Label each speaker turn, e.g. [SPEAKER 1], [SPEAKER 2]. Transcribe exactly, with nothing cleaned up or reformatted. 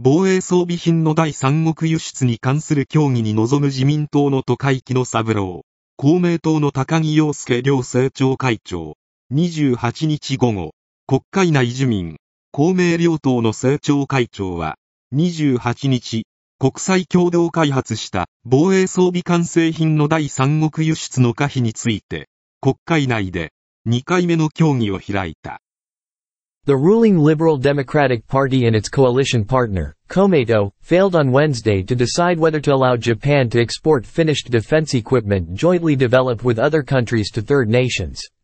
[SPEAKER 1] 防衛装備品の第三国輸出に関する協議に臨む自民党の都会木野三郎、公明党の高木陽介両政調会長、にじゅうはちにち午後、国会内自民、公明両党の政調会長は、にじゅうはちにち、国際共同開発した防衛装備完成品の第三国輸出の可否について、国会内でにかいめの協議を開いた。
[SPEAKER 2] The ruling Liberal Democratic Party and its coalition partner, Komeito, failed on Wednesday to decide whether to allow Japan to export finished defense equipment jointly developed with other countries to third nations.